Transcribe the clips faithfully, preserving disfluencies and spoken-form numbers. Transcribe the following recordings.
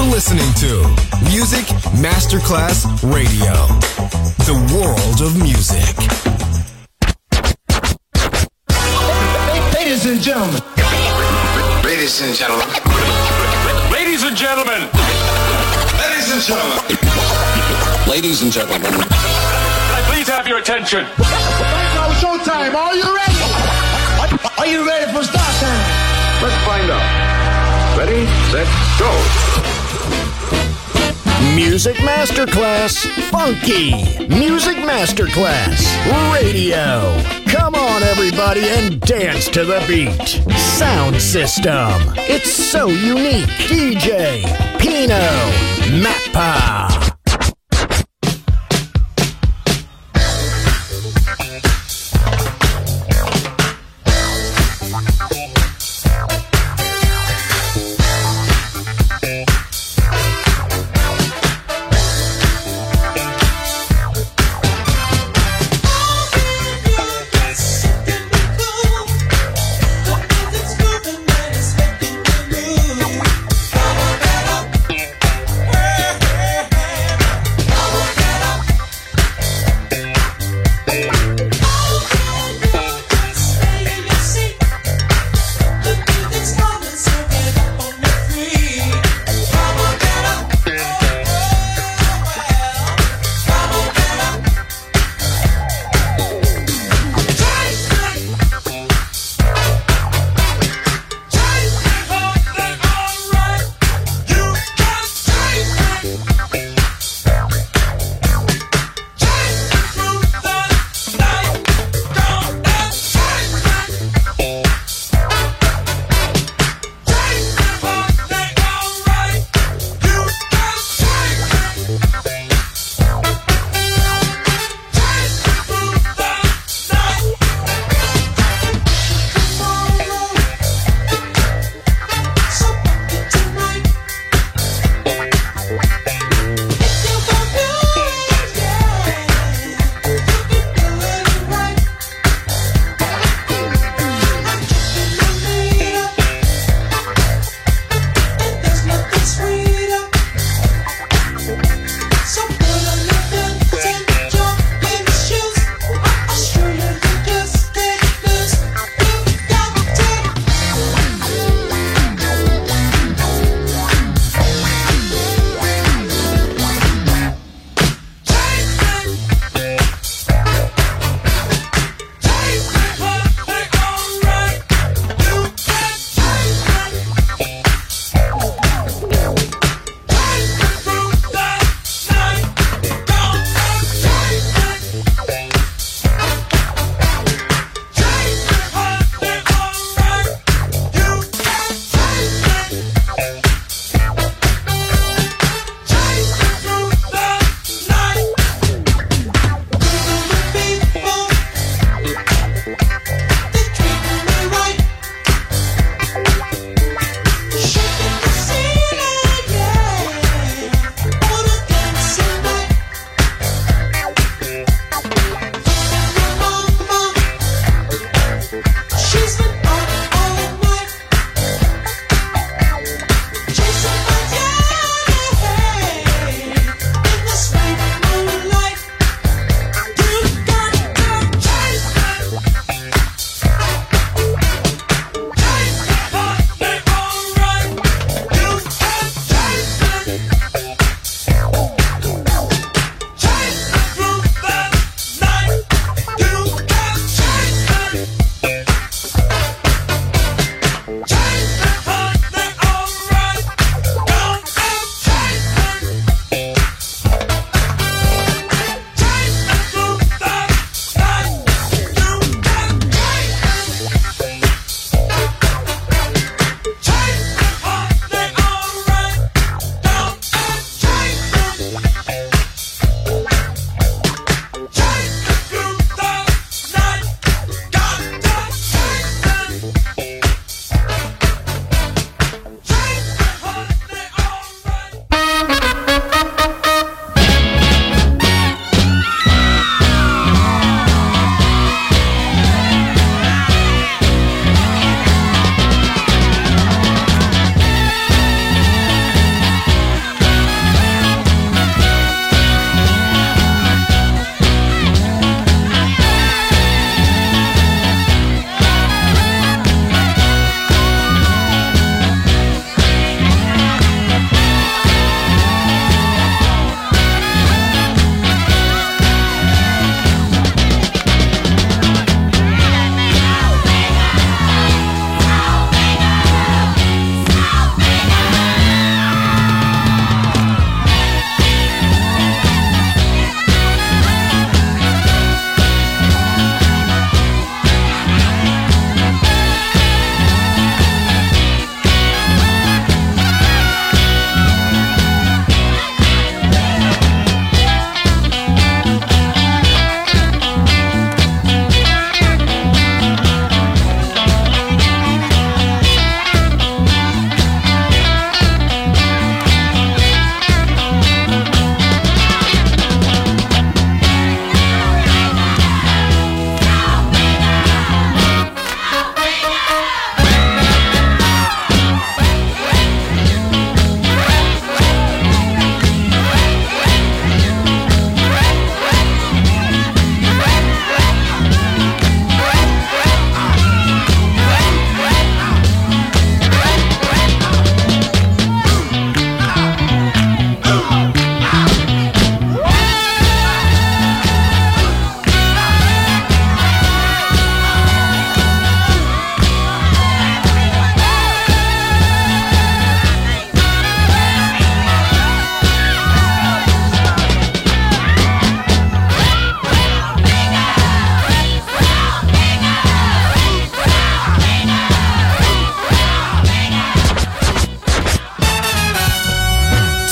listening to Music Masterclass Radio, the world of music. Ladies and gentlemen. Ladies and gentlemen. Ladies and gentlemen. Ladies and gentlemen. Ladies and gentlemen. Can I please have your attention? Right now, showtime. Are you ready? Are you ready for start time? Let's find out. Ready, set, go. Music Masterclass Funky. Music Masterclass Radio. Come on, everybody, and dance to the beat. Sound system. It's so unique. D J Pino Mappa. Hey,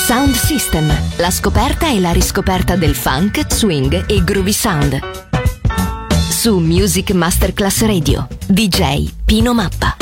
Sound System, la scoperta e la riscoperta del funk, swing e groovy sound. Su Music Masterclass Radio, D J Pino Mappa.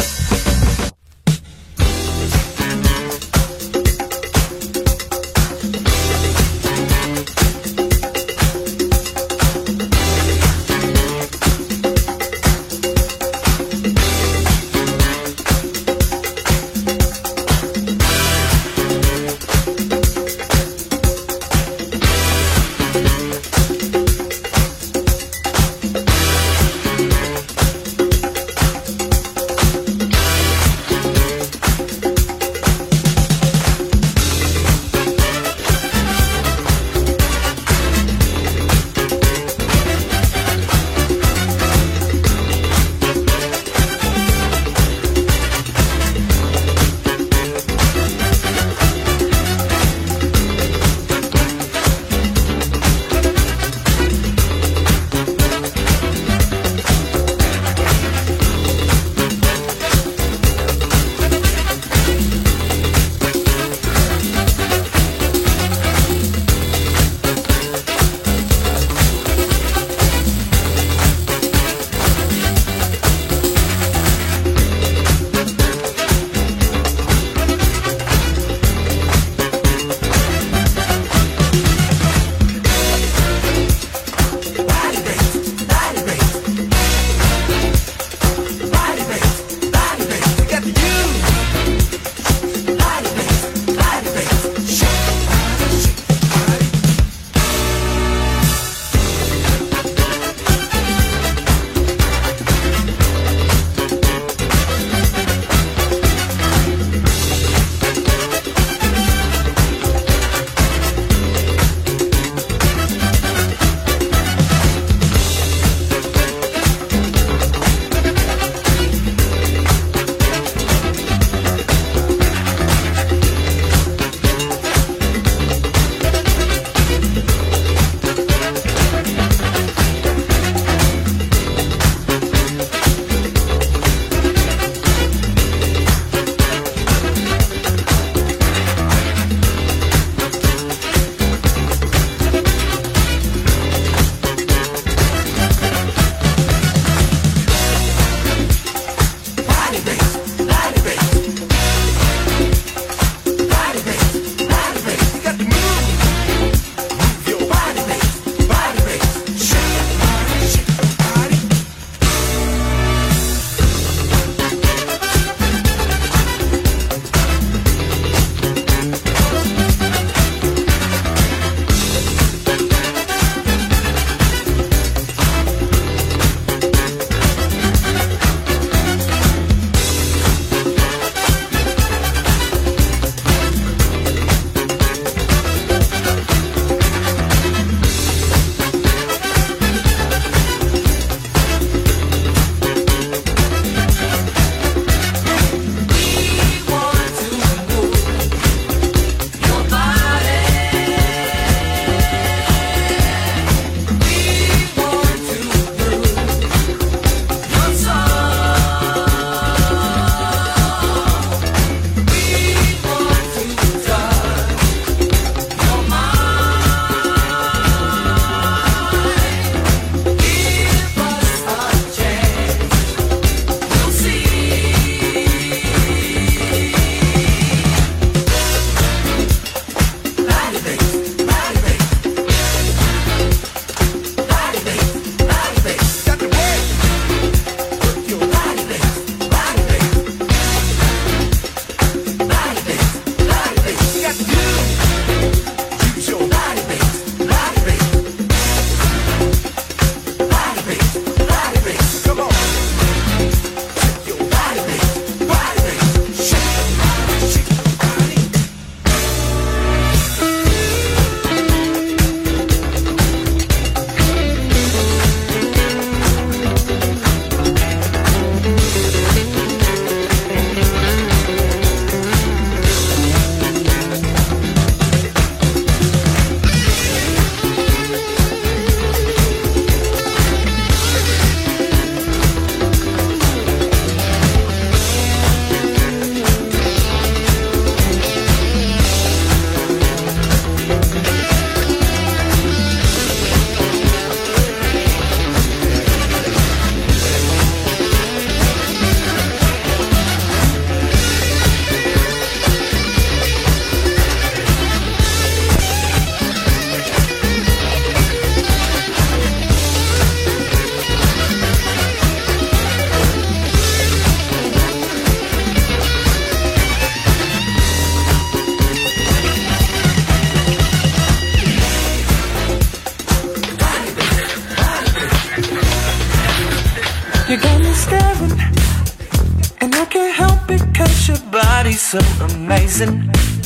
be so amazing,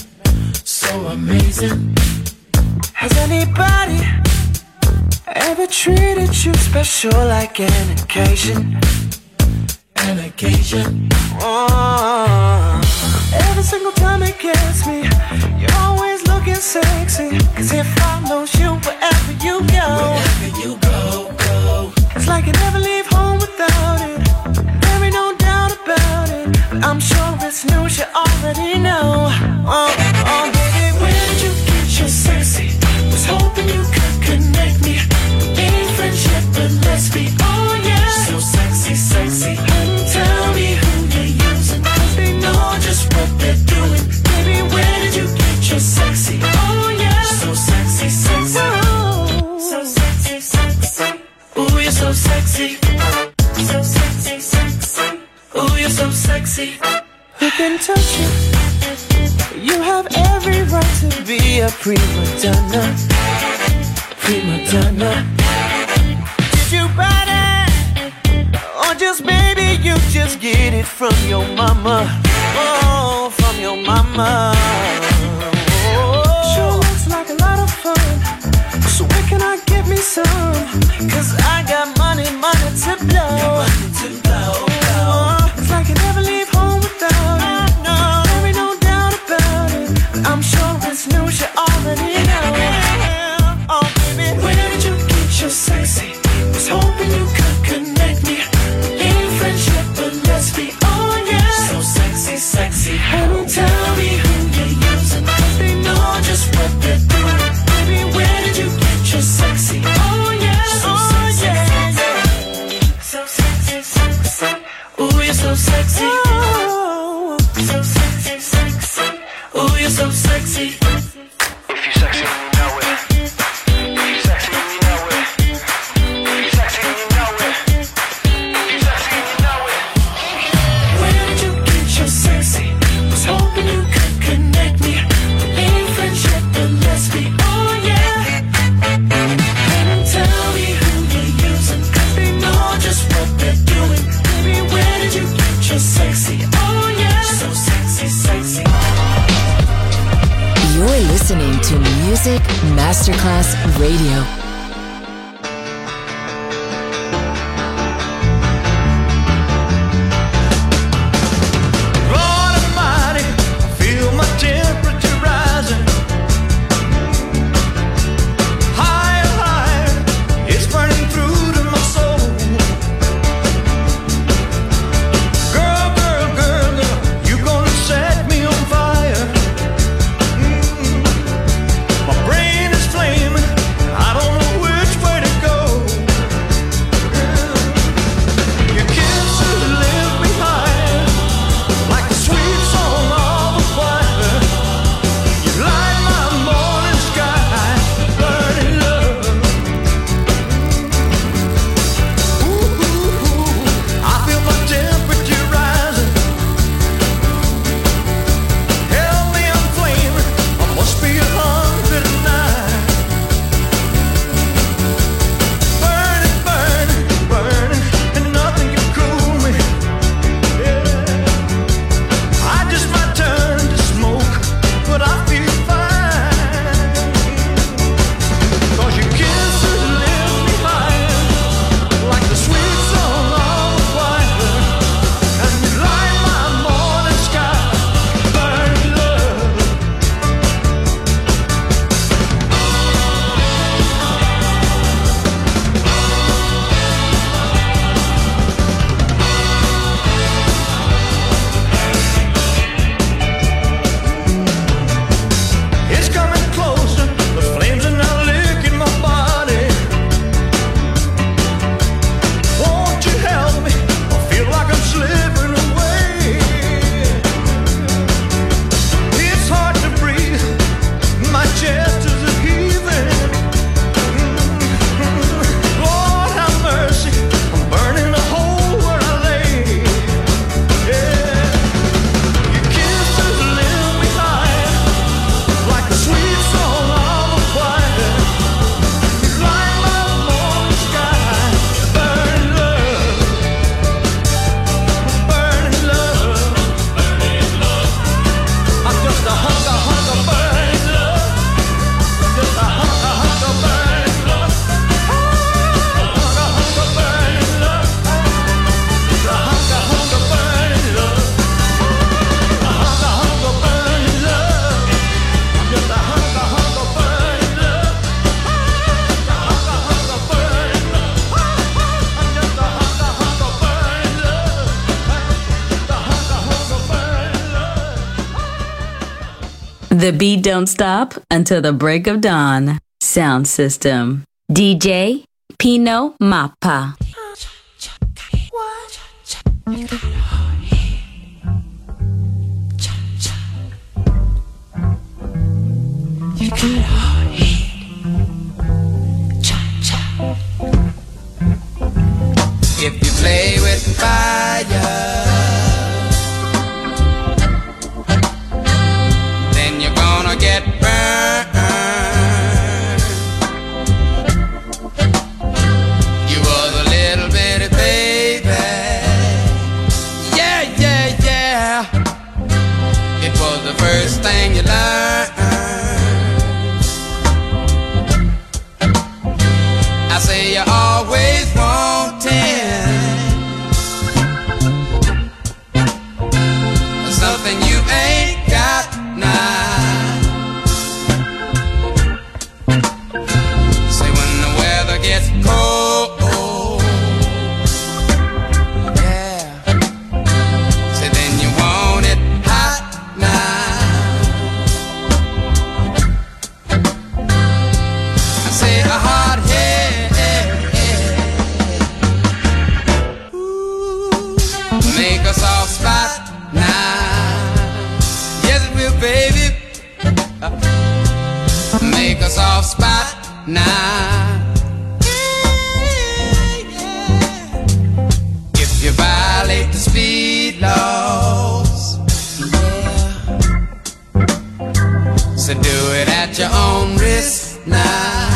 so amazing. Has anybody ever treated you special like an occasion? An occasion. Oh, every single time it gets me, you're always looking sexy. Cause it follows you wherever you go. Wherever you go, go. It's like you never leave home without it. There ain't no doubt about it. But I'm sure it's news you already know. Oh, oh, baby, where did you get your sexy? Was hoping you could connect me. Ain't friendship, but let's be, oh yeah. So sexy, sexy. And tell me who you're using, cause they know just what they're doing. Baby, where did you get your sexy? Oh yeah. So sexy, sexy. Oh. So sexy, sexy. Ooh, you're so sexy. So sexy, sexy. Ooh, you're so sexy. Who can touch you? You have every right to be a prima donna. Prima donna. Did you buy that? Or just maybe you just get it from your mama? Oh, from your mama. Oh. Sure looks like a lot of fun. So where can I get me some? Cause I got money, money to blow. Money to blow. Oh, it's like you never leave home without it. No, there ain't no doubt about it. But I'm sure it's news you already know. Oh, baby, where did you get your sexy? Was hoping you could connect me. Ain't friendship, but let's be, oh yeah. So sexy, sexy. Honey, tell me who you're using, cause they know just what they're doing. Baby, where did you get your sexy? Oh yeah, so oh sexy, yeah, yeah. So sexy, sexy. Ooh, you're so sexy. Oh, so sexy, sexy. Ooh, you're so sexy. If you're sexy, you know it. If you're sexy, you know it. If you're sexy, you know it. If you're sexy, you know it. Where did you get your sexy? Was hoping you could connect me. Ain't friendship, but let's be, oh yeah. And tell me who you're using, cause they know just what they're doing. Baby, where did you get your sexy? Oh yeah. So sexy, sexy. You're listening to Music Masterclass Radio. Lord Almighty, I feel my temperature rising. Higher, higher, it's burning through to my soul. Girl, girl, girl, girl, you gonna set me on fire. Mm. My brain is flaming, I don't know The beat don't stop until the break of dawn. Sound system. D J Pino Mappa. You got a hard head. Cha cha. If you play with fire, then you're gonna get burned. You was a little bitty baby. Yeah, yeah, yeah. It was the first thing you learned. I say you're always wanting something you ain't got now. Say when the weather gets cold, yeah. Say then you want it hot now. I say a hard head make a soft spot now. Yes, it will, baby. Make a soft spot now. If you violate the speed laws, yeah. So do it at your own risk now.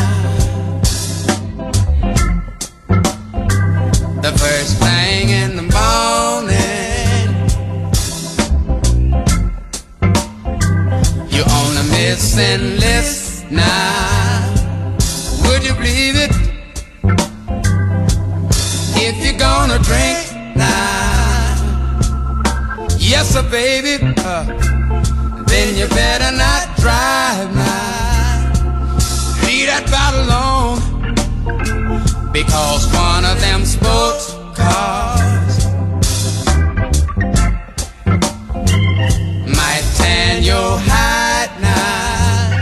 The first thing in the morning, you on a missing list now. Would you believe it? If you're gonna drink now, yes sir baby, uh, then you better not drive now. Leave that bottle alone, because one of them sports cars might tan your hide now.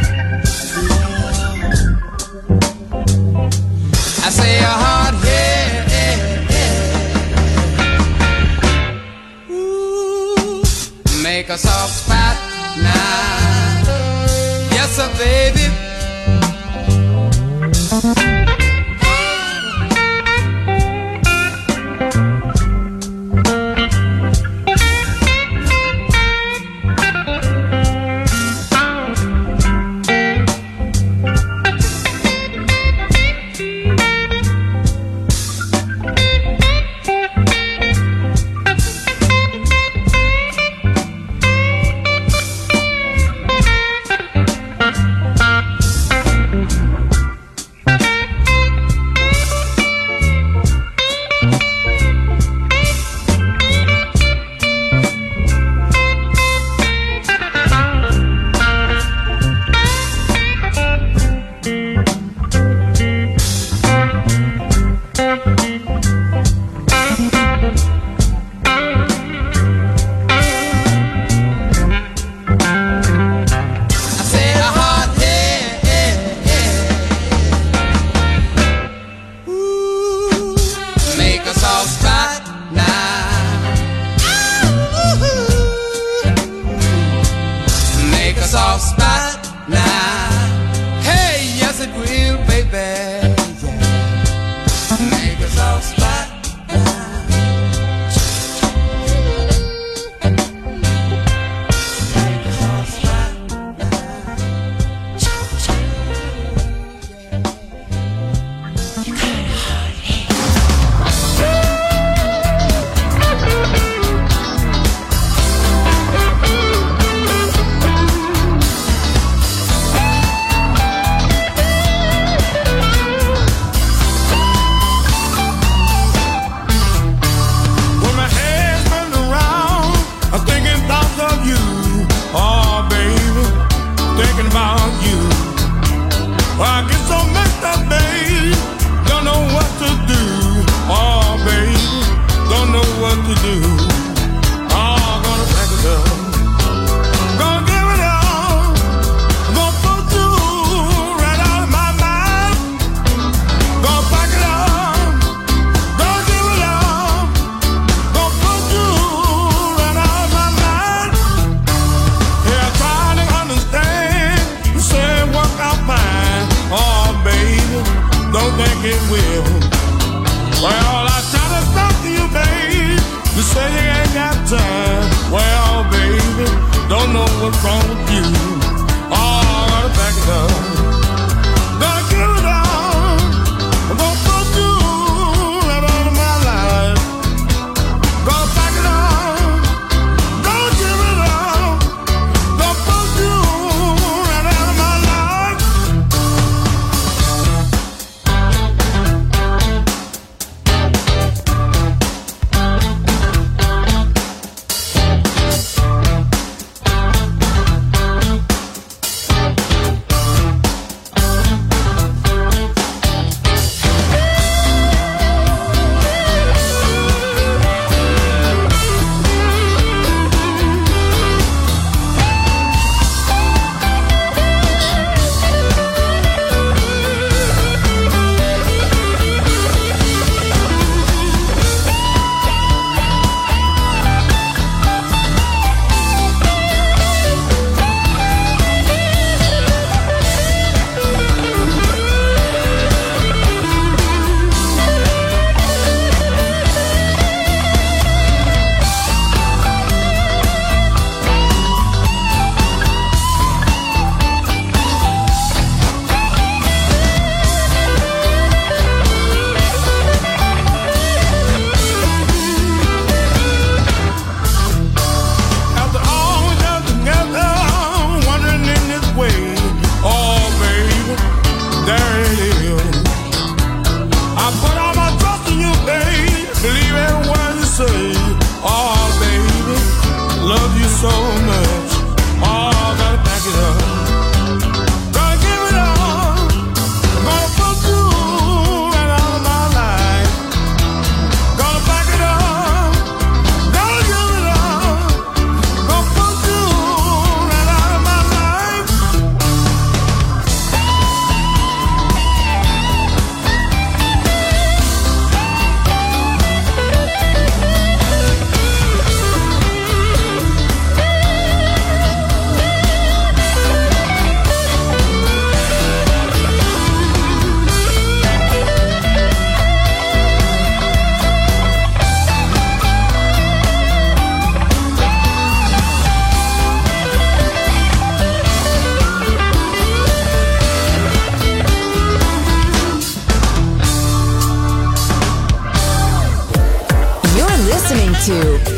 I say a hard head, ooh, make a soft spot now. Yes sir baby.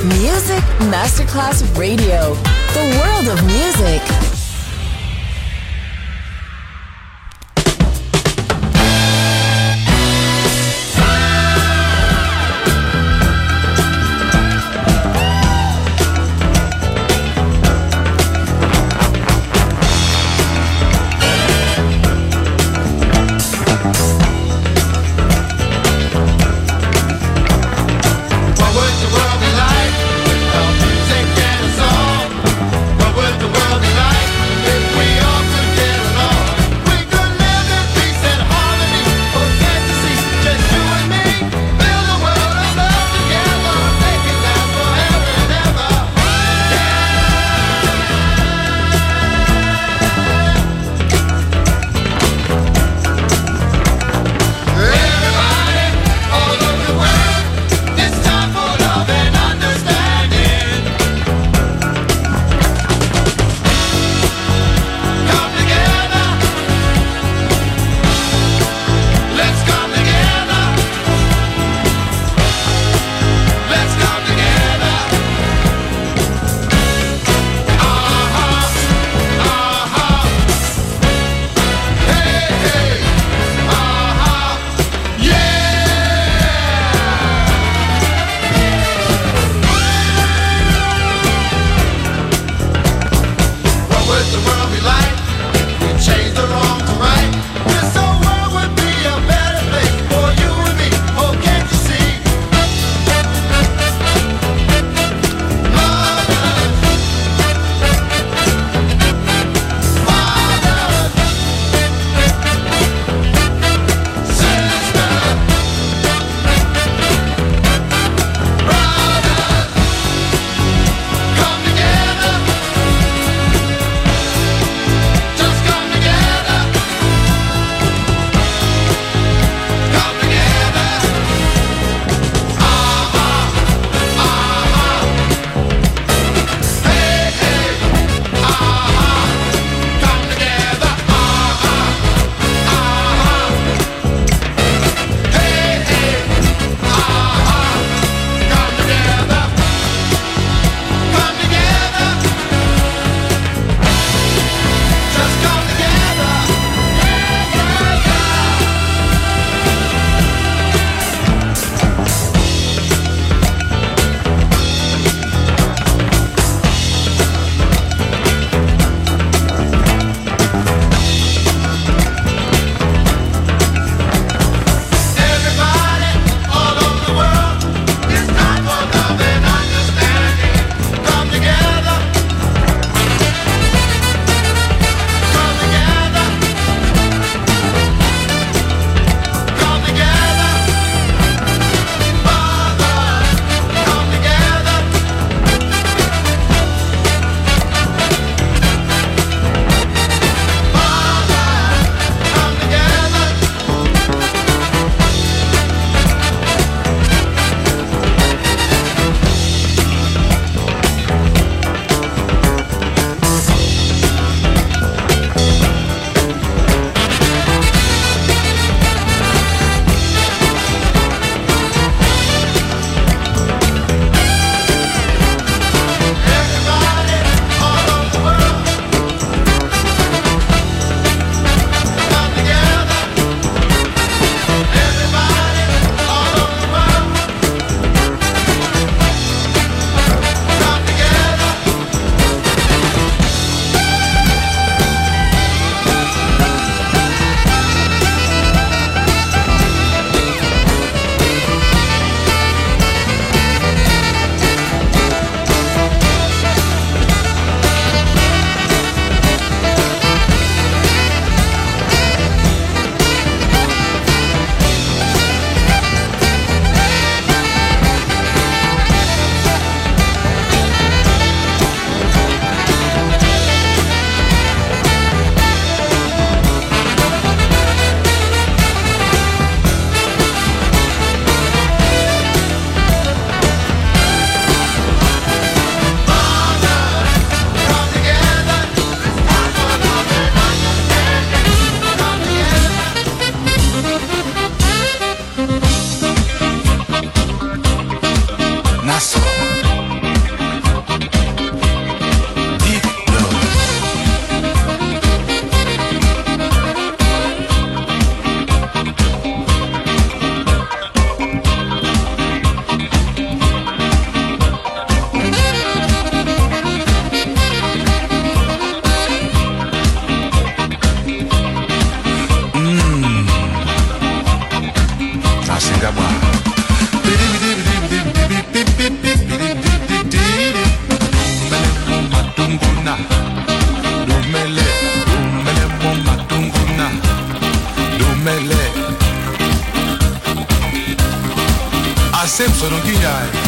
Music Masterclass Radio. The world of music. What would the world be like without music and a song? What would the world be like sono ghignai.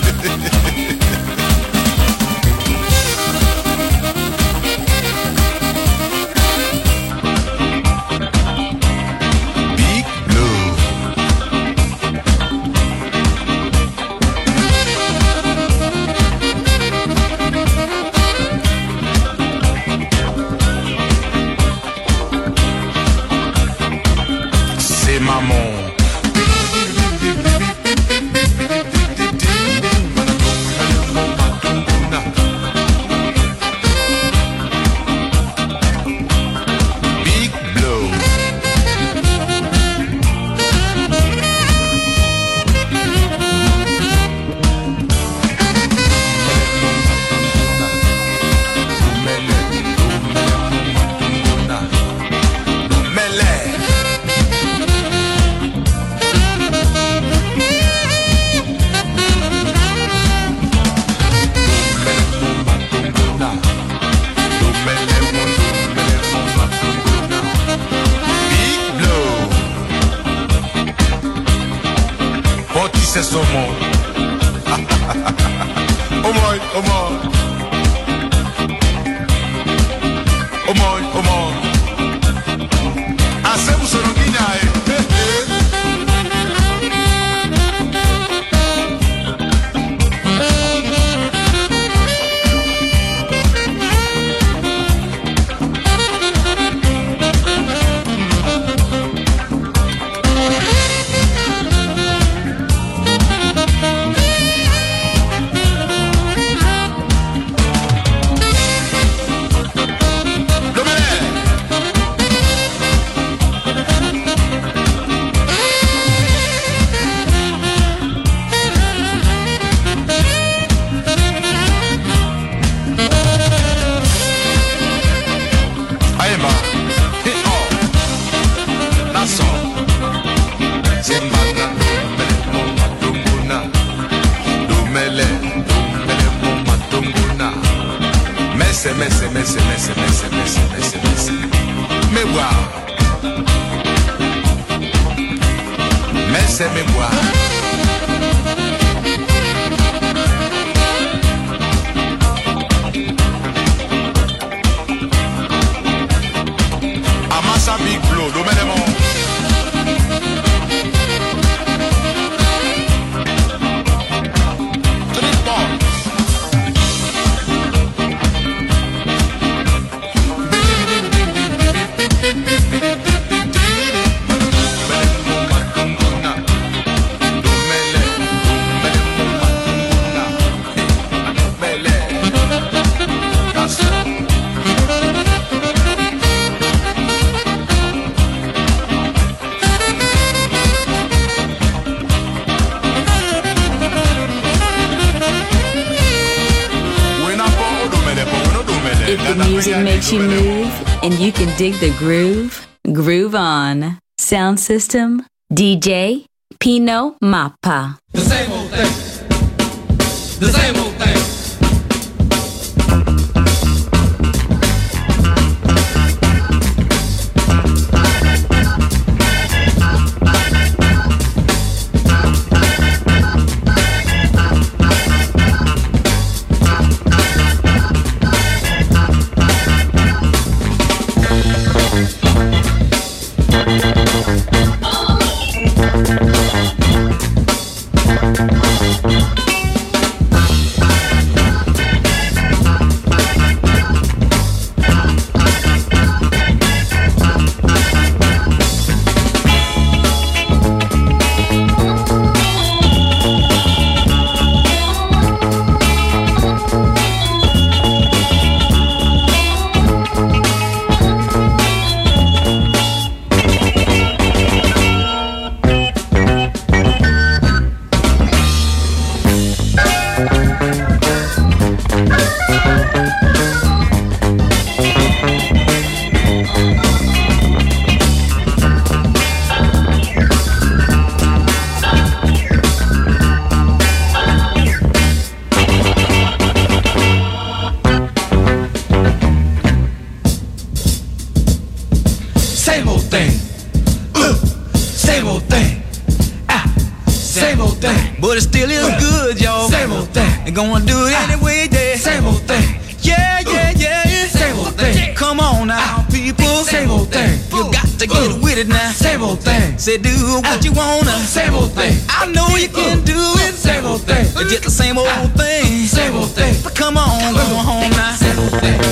Makes you move and you can dig the groove. Groove on. Sound system, D J Pino Mappa. The same old thing. The same old thing. Same old thing. But it still is good, y'all. Same old thing. They're gonna do it anyway, yeah. Same old thing. Yeah, yeah, yeah. Same old thing. Come on now, people. Same old thing. You got to get with it now. Same old thing. Say do what you wanna. Same old thing. I know you can do it. Same old thing. It's just the same old thing. Same old thing. But come on, go home now. Same old thing.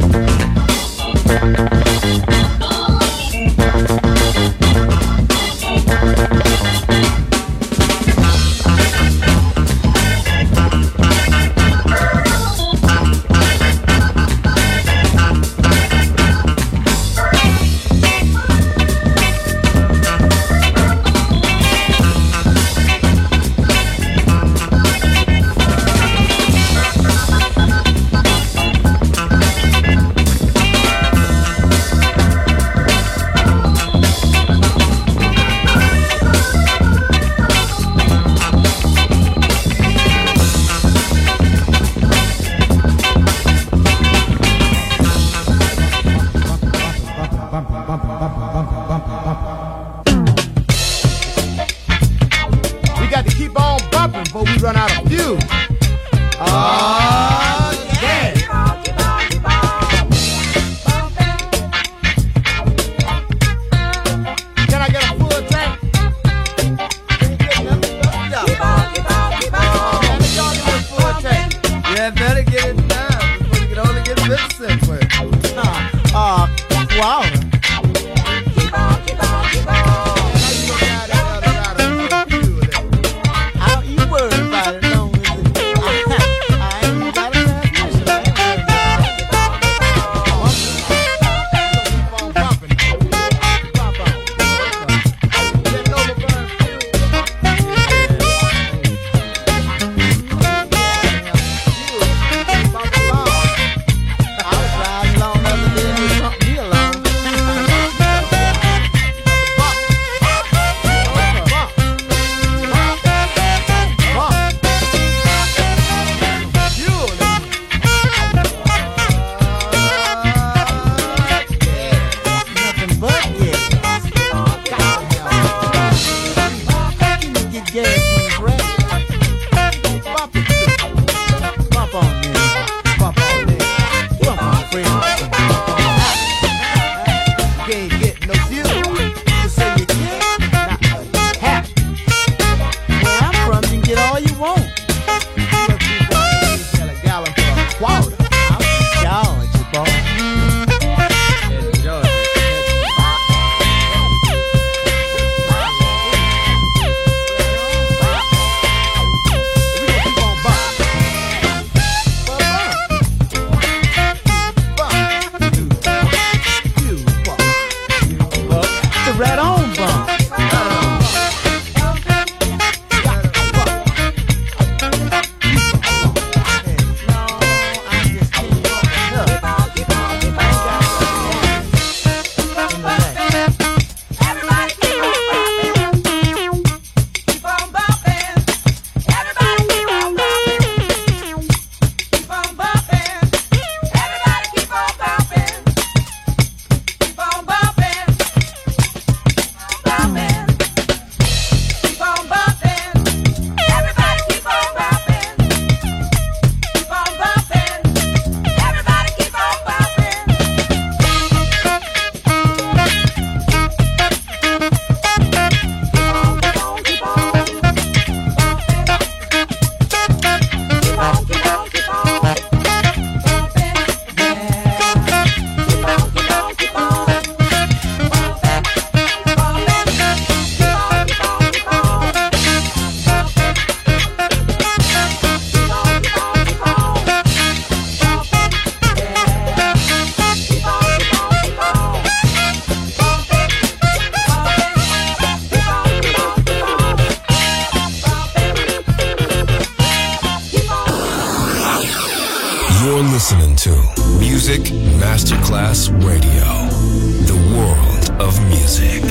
You're listening to Music Masterclass Radio, the world of music.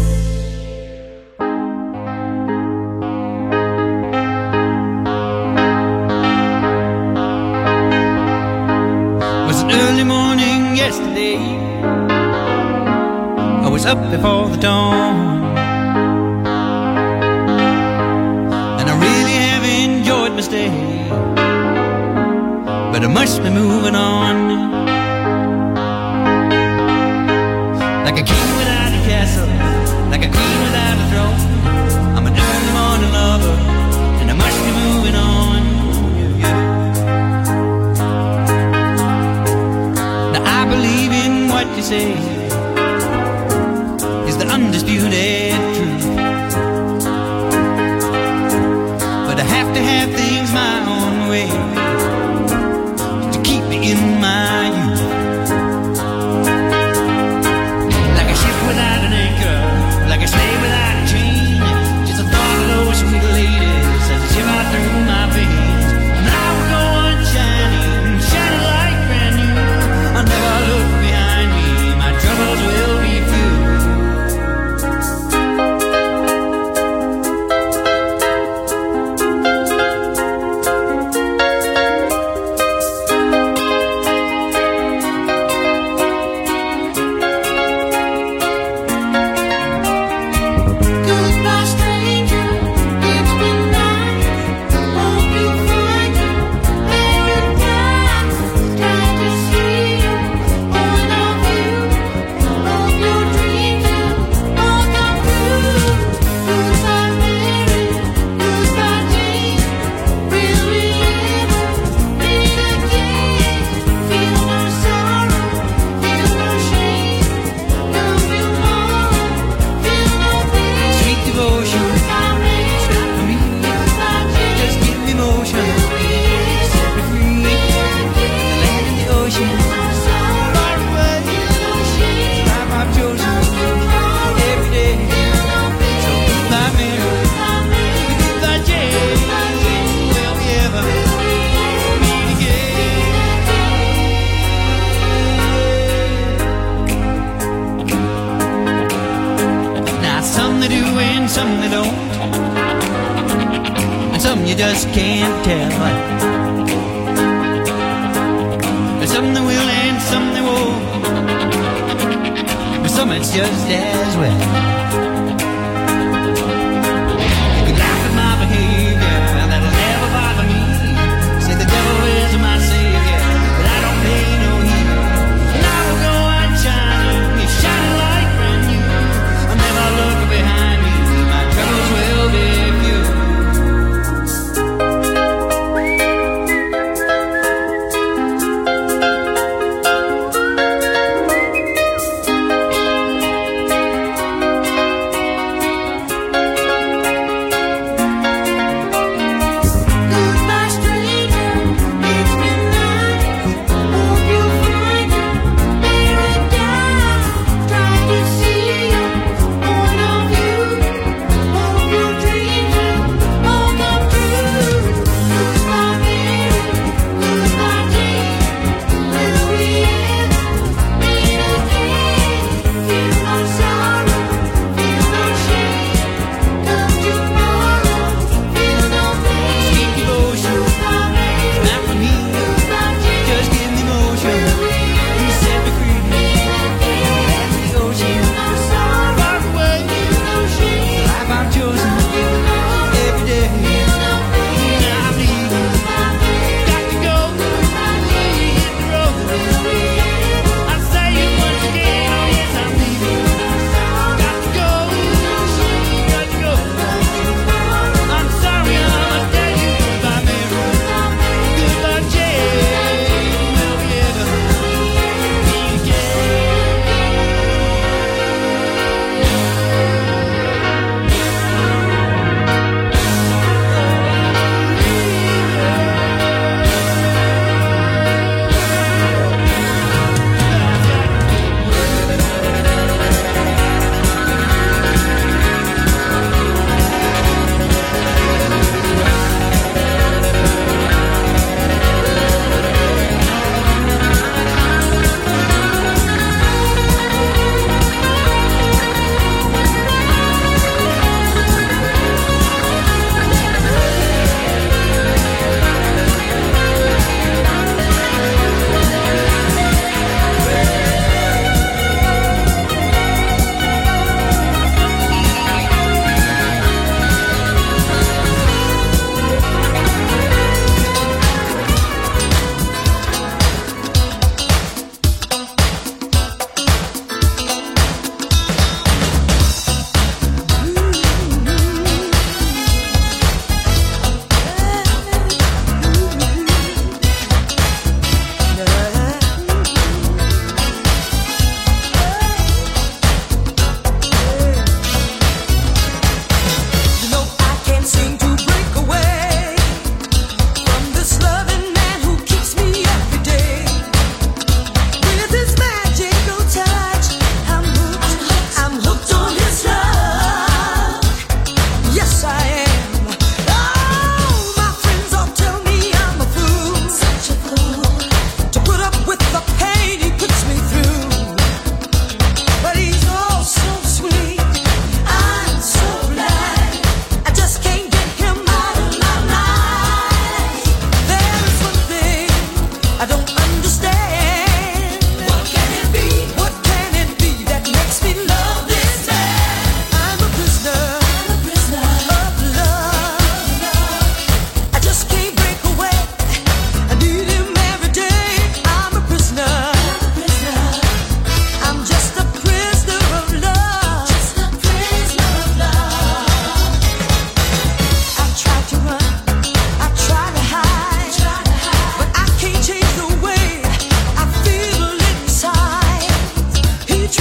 It was an early morning yesterday. I was up before the dawn. me stay, but I must be moving on. Like a king without a castle, like a queen without a throne. I'm a early morning lover, and I must be moving on. Yeah, yeah. Now I believe in what you say is the undisputed truth, but I have to have things my own way to keep me in my youth. Like a ship without an anchor, like a slave without a chain, just a thought of those sweet ladies as they shiver through my veins. Now we'll go on shining, shining like brand new. I'll never look behind me, my troubles will be few. Goodbye, stranger. It's been nice. Hope you find your paradise. Glad to see you, all of you. Hope your dreams will all come true. Goodbye, Mary. Goodbye, Jane. Will we ever meet again? Feel no sorrow, feel no shame. No feel more, feel no pain. Sweet devotion, Goodbye, Mary. stop for me. Goodbye, Jane. Just give me motion, set me free. The land and the ocean, far away. Life I've chosen every day. So goodbye, Mary. Goodbye, Jane. Will we ever meet again? Now some they do and some they don't, and some you just can't tell. And some they will and some they won't, but some it's just as well. You can laugh at my behavior, that'll never bother me. Say the devil is my savior, but I don't pay no heed. Now we'll go on shining, it's shining like brand new. I'll never look behind me, my troubles will be few.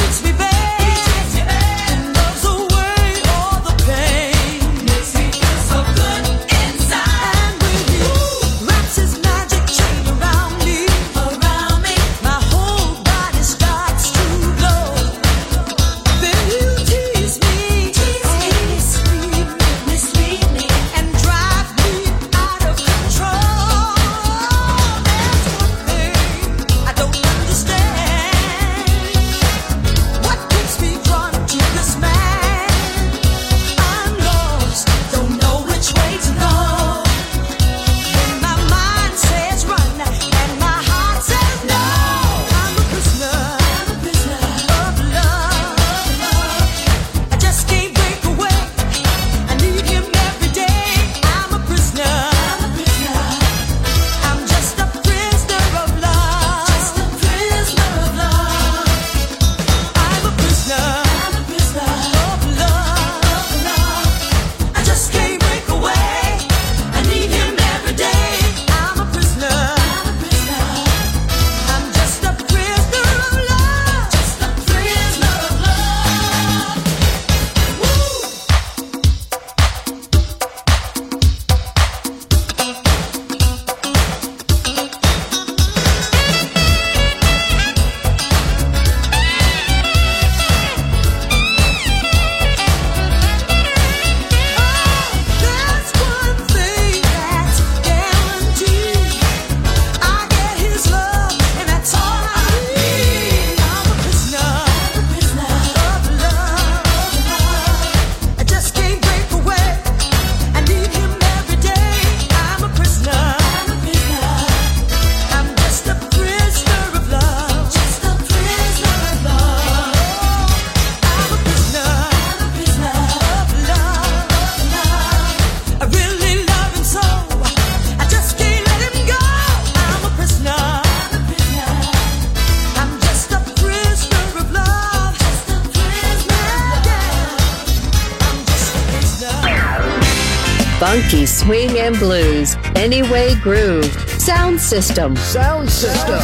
Funky swing and blues. Anyway Groove. Sound System. Sound System.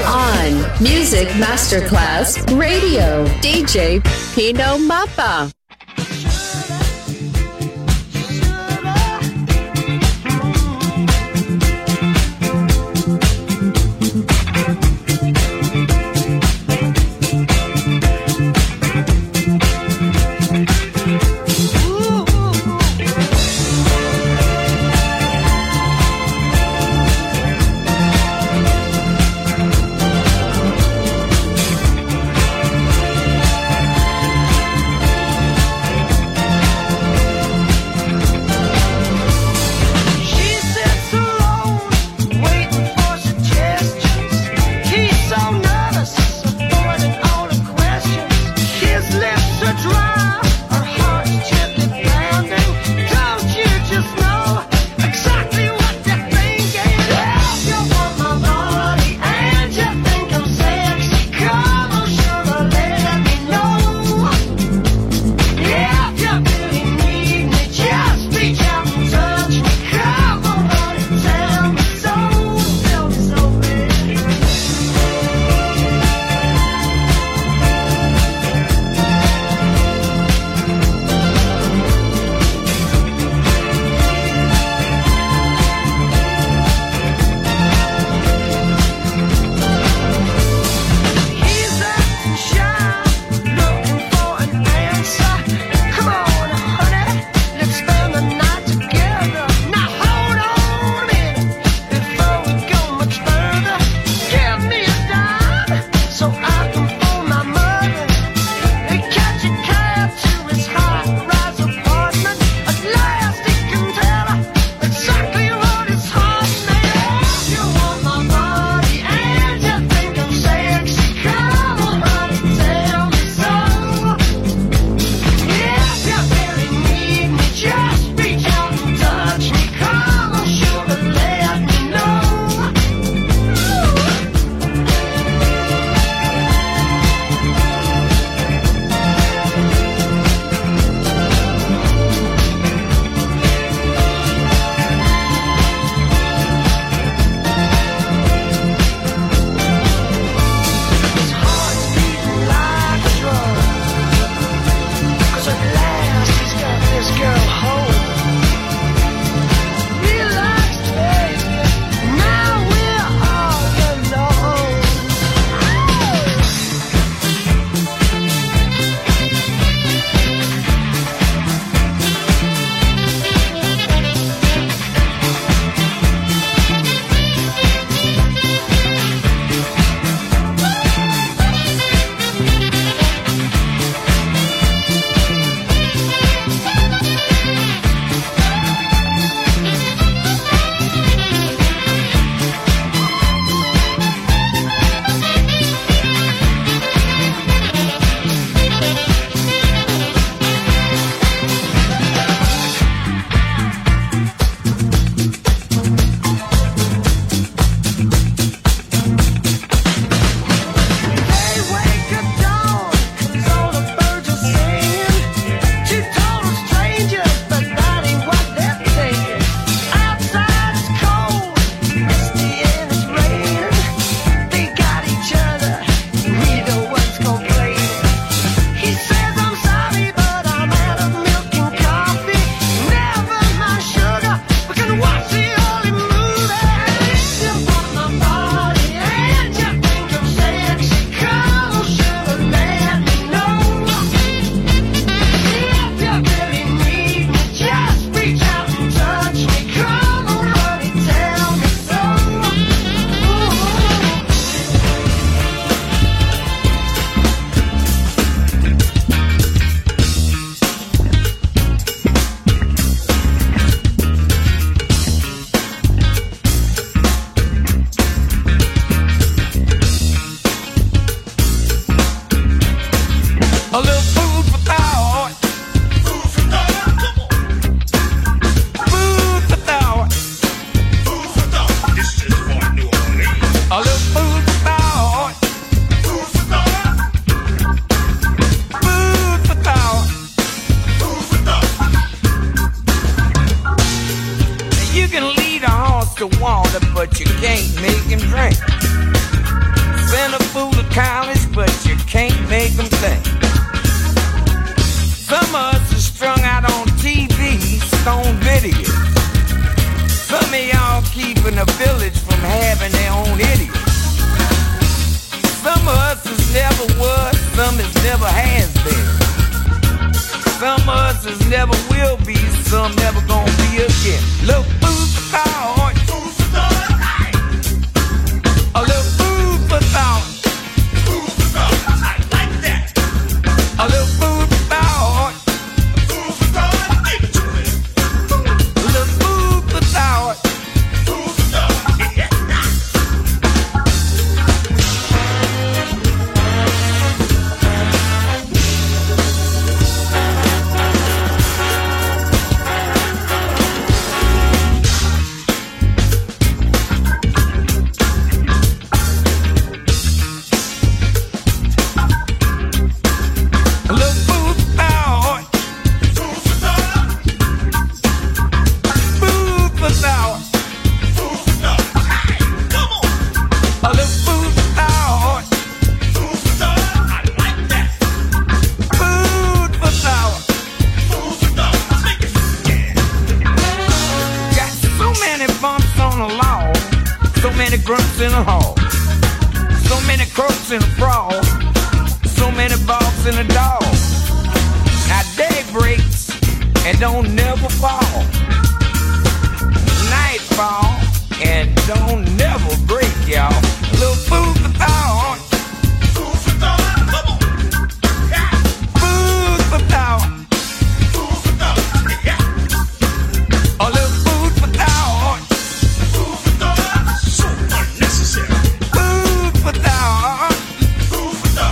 On Music Masterclass Radio. D J Pino Mappa. A little food for thought. Food for thought. Come on. Food for thought. Food for thought. This is for New Orleans. A little food for thought. Food for thought. Food for thought. Food for thought. Now you can lead a horse to water, but you can't make him drink. Send a fool to college, but you can't make him think. Some of us are strung out on T V, stone videos. Some of y'all keeping a village from having their own idiots. Some of us is never was, some is never has been. Some of us is never will be, some never gonna be again. Little food for thought. Food for thought. A little food for thought. Food for thought. I like that. A little food for thought. Food for thought. Give it to me. A little food for thought. Food for thought. Yeah. Grunts in a hall, so many croaks in a brawl, so many balks in a dog. Now day breaks and don't never fall. Night fall and don't never break, y'all. Little food for thought. Food for thought. Come on. Yeah. Food for thought. Food for thought. Yeah. A little food for thought. Food for thought. So unnecessary. Food for thought. Food for thought.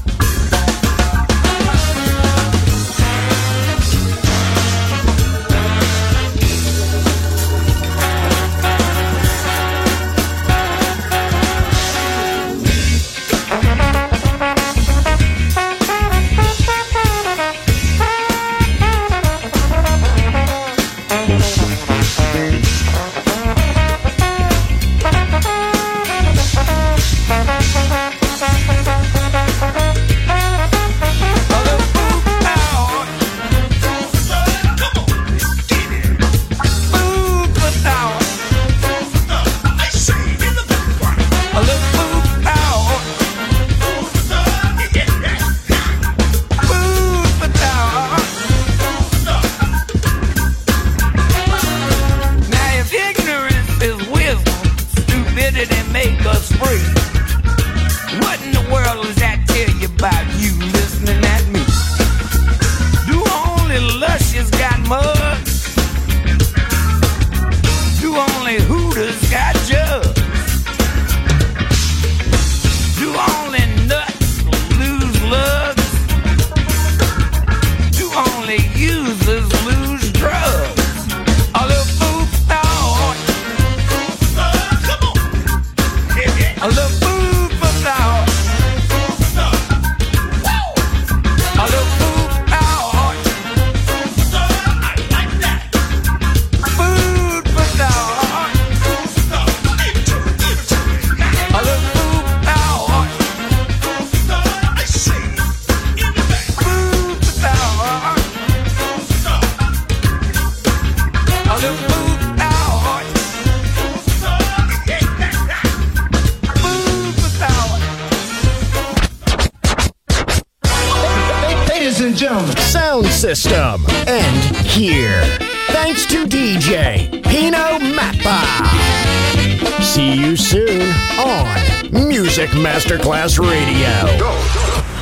Sound system. And here. Thanks to D J Pino Mappa. See you soon on Music Masterclass Radio. Go.